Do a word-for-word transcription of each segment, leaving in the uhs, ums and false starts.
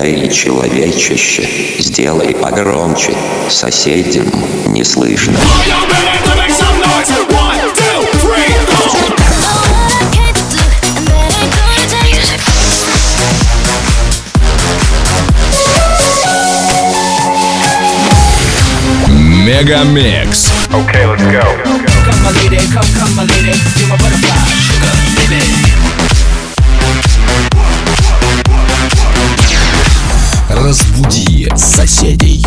Эй, человечище, сделай погромче, соседям не слышно. Мегамикс. Okay, let's go. Come my lady, come, come my lady, you're my butterfly, sugar, baby. Разбуди соседей.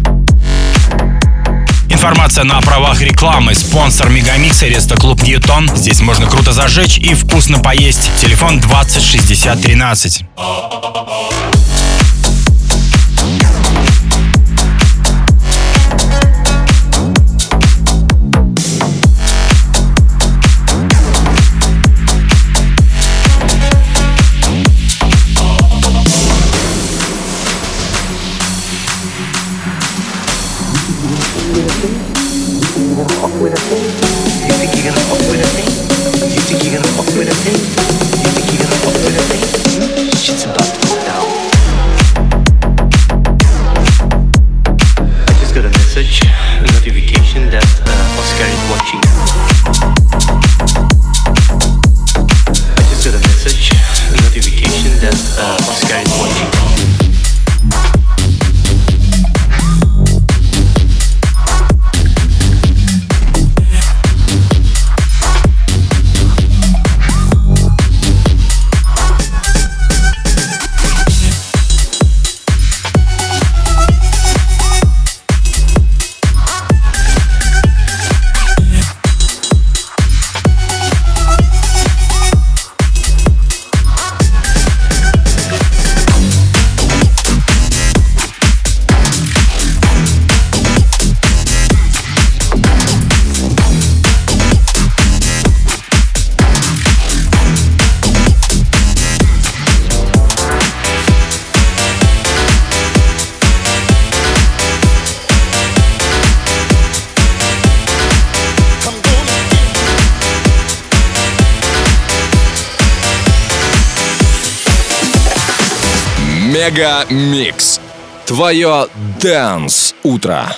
Информация на правах рекламы. Спонсор Мегамикса Рестоклуб Ньютон. Здесь можно круто зажечь и вкусно поесть. Телефон двадцать шестьдесят тринадцать. Мегамикс. Твое дэнс утро.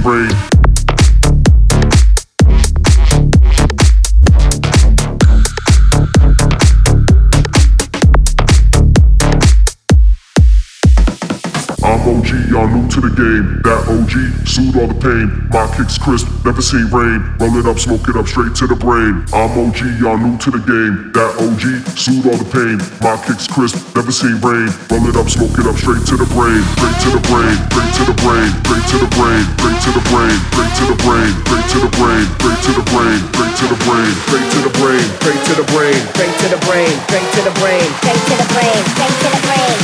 rain. I'm O G, y'all new to the game. That O G, soothe all the pain. My kicks crisp, never seen rain. Roll it up, smoke it up, straight to the brain. I'm O G, y'all new to the game. That O G, soothe all the pain. My kicks crisp, never seen rain. Roll it up, smoke it up, straight to the brain. Straight to the brain, straight to the brain, straight to the brain, straight to the brain, straight to the brain, straight to the brain, straight to the brain, straight to the brain, straight to the brain, straight to the brain, straight to the brain, straight to the brain, straight to the brain, straight to the brain.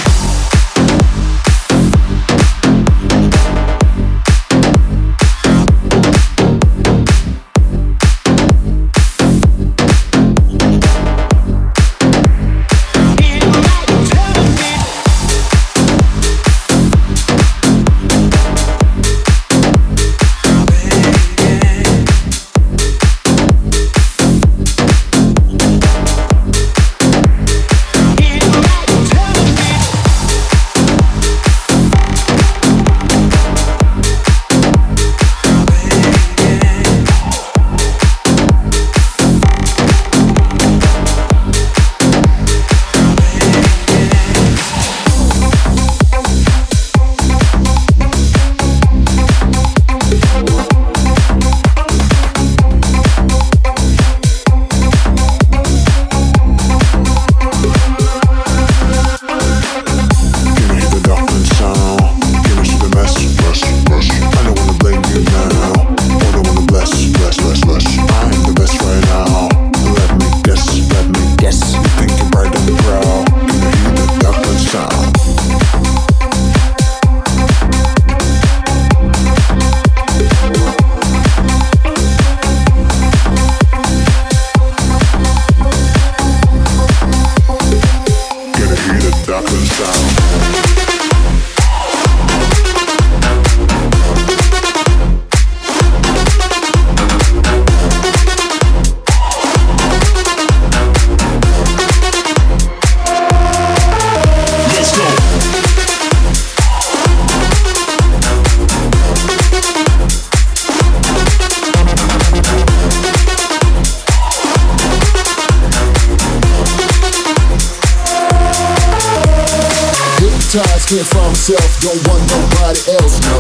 Can't find myself, don't want nobody else, no.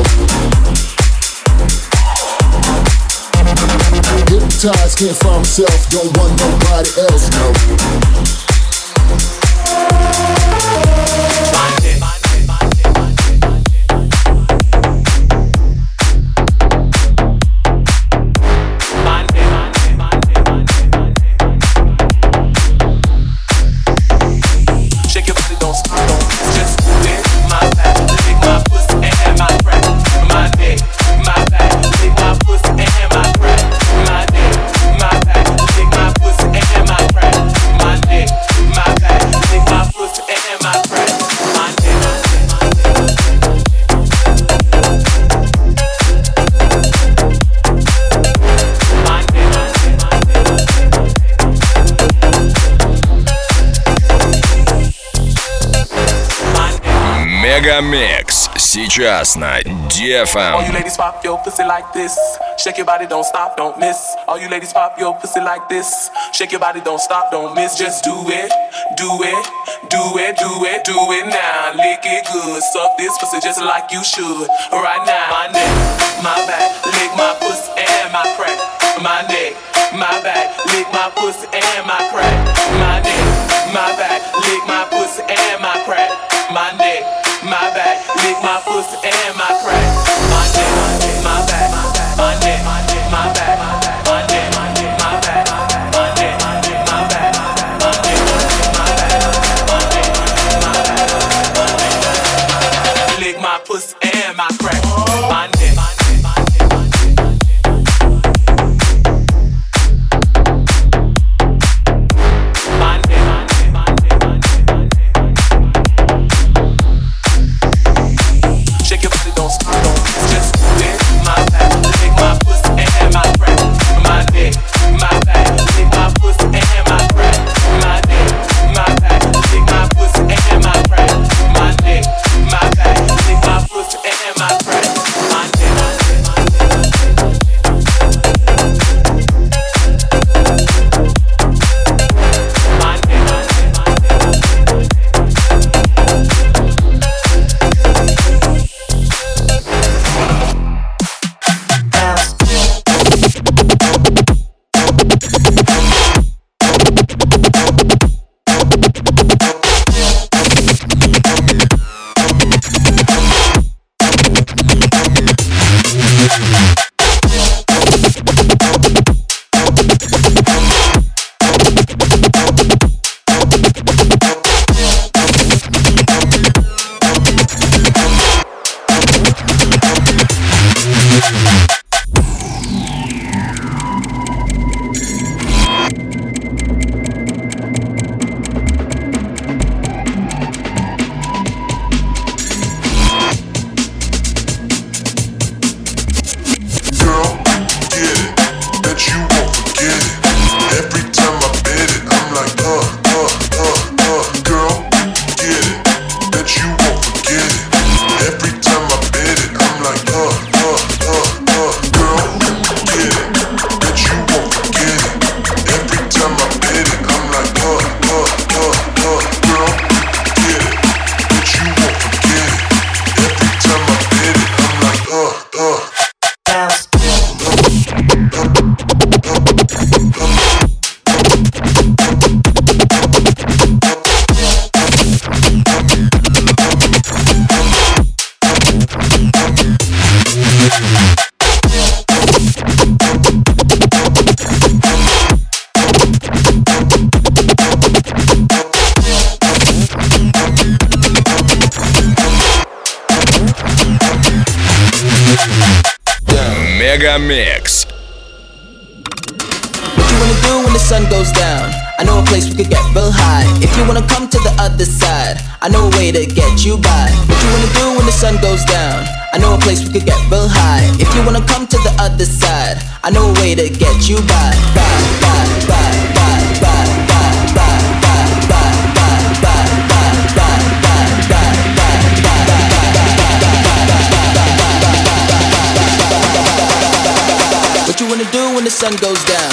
Hypnotized, can't find myself, don't want nobody else, no. Мегамикс сейчас на ди эф эм. All you ladies pop your pussy like this. Shake your body, don't stop, don't miss. All you ladies pop your pussy like this. Shake your body, don't stop, don't miss. Just do it, do it, do it, do it, do it now. Lick it good, suck this pussy just like you should. Right now, my neck, my back, lick my pussy and my crack. My neck, my back, lick my pussy and my crack. My neck, my back, lick my pussy and my crack. My neck, my back, lick my pussy and my crack. My neck, my back, my neck, my back, my neck, my back, my neck, my back, my neck, my back, my neck, my back, my neck. Lick my pussy and my crack. My neck. My neck, my back, lick my pussy and my crack. Мегамикс. What you wanna do when the sun goes down? I know a place we could get real high. If you wanna come to the other side, I know a way to get you by. What you wanna do when the sun goes down? I know a place we could get real high. If you wanna come to the other side, I know a way to get you by. By, by, by, by, by, by, by, by, by, by, by, by, what you wanna do when the sun goes down?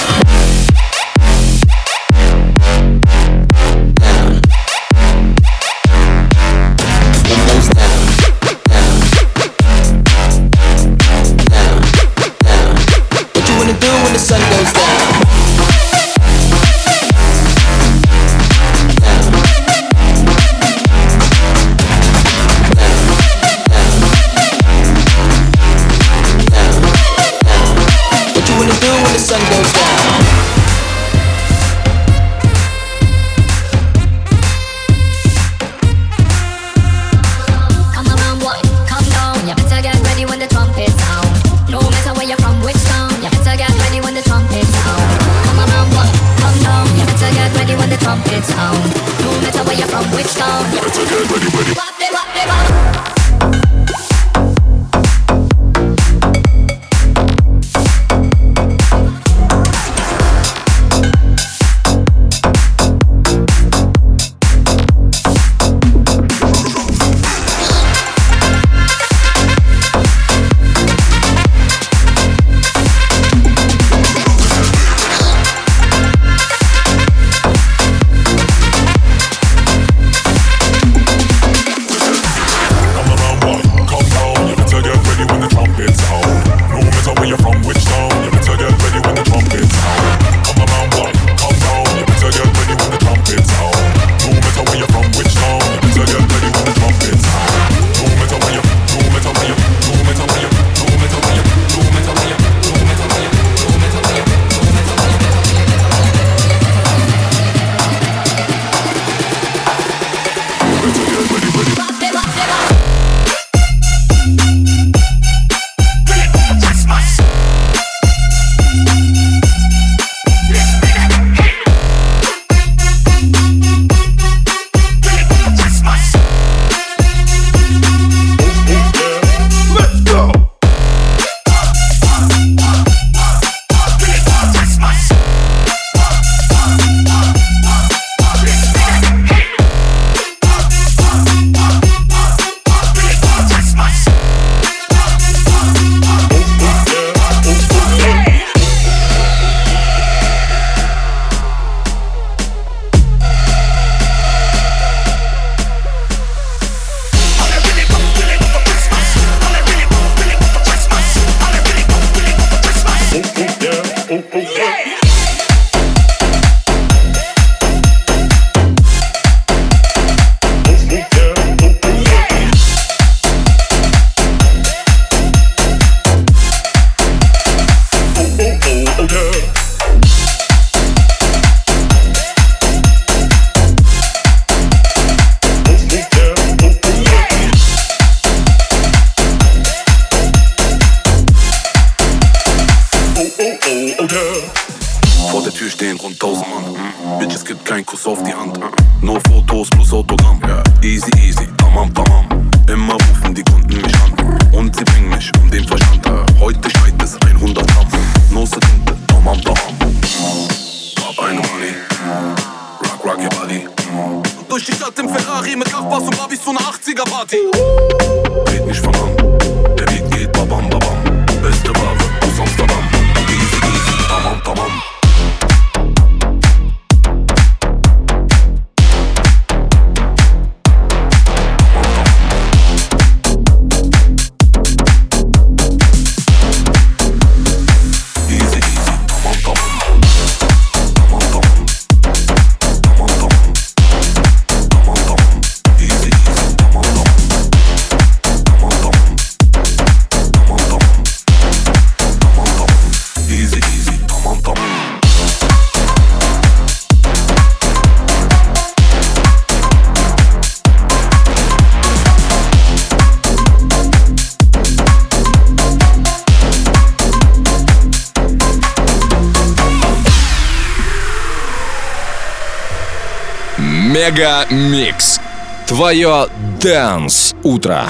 oh yeah. Vor der Tür stehen rund tausend Mann. Mm. Bitches gibt kein Kuss auf die Hand. Mm. Nur Fotos plus Autogramm. Yeah. Easy, easy, tamam, tamam. Immer rufen die Kunden mich an. Und sie bringen mich um den Verstand. Uh. Heute schneit es hundert Gramm. Nose Tinte, tamam, tamam. Hab eine Money. Rock, rock your body. Durch die Stadt im Ferrari mit Nachbars und Babys zu einer achtziger-Party. Red nicht von an. Der Beat geht babam, babam. Beste Ware aus Amsterdam. Easy, easy, tamam, tamam. Мега Микс. Твое Dance утро.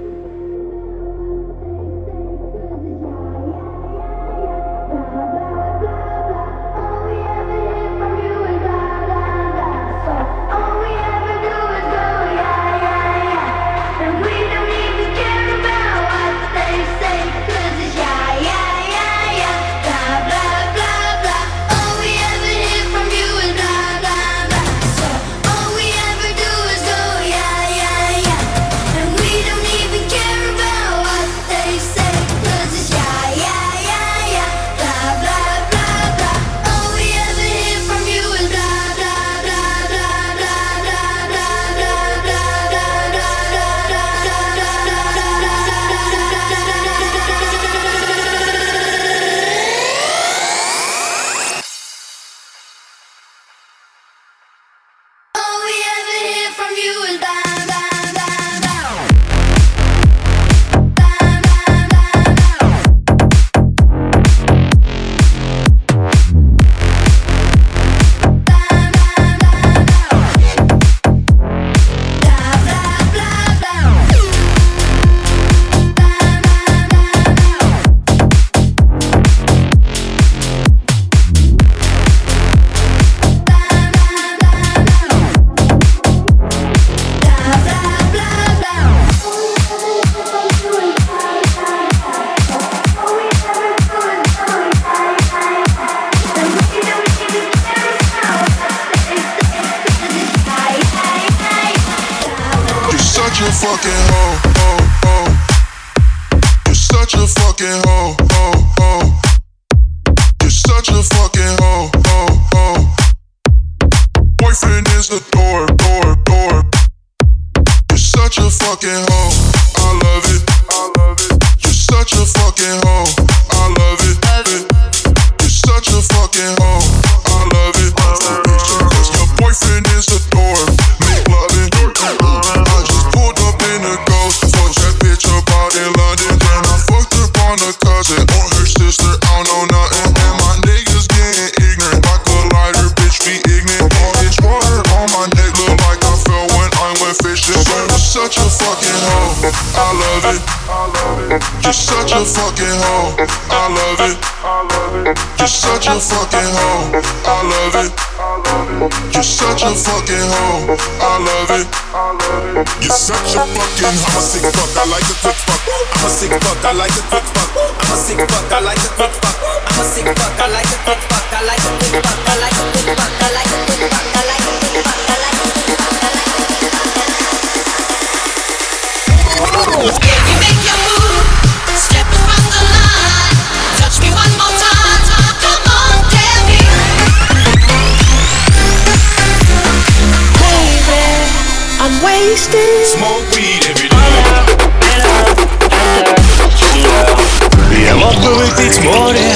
Я мог бы выпить море,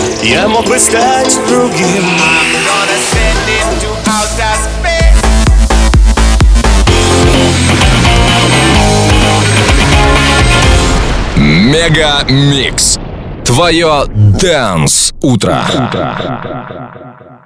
я мог бы стать другим. Мега Микс. Твое Dance утро.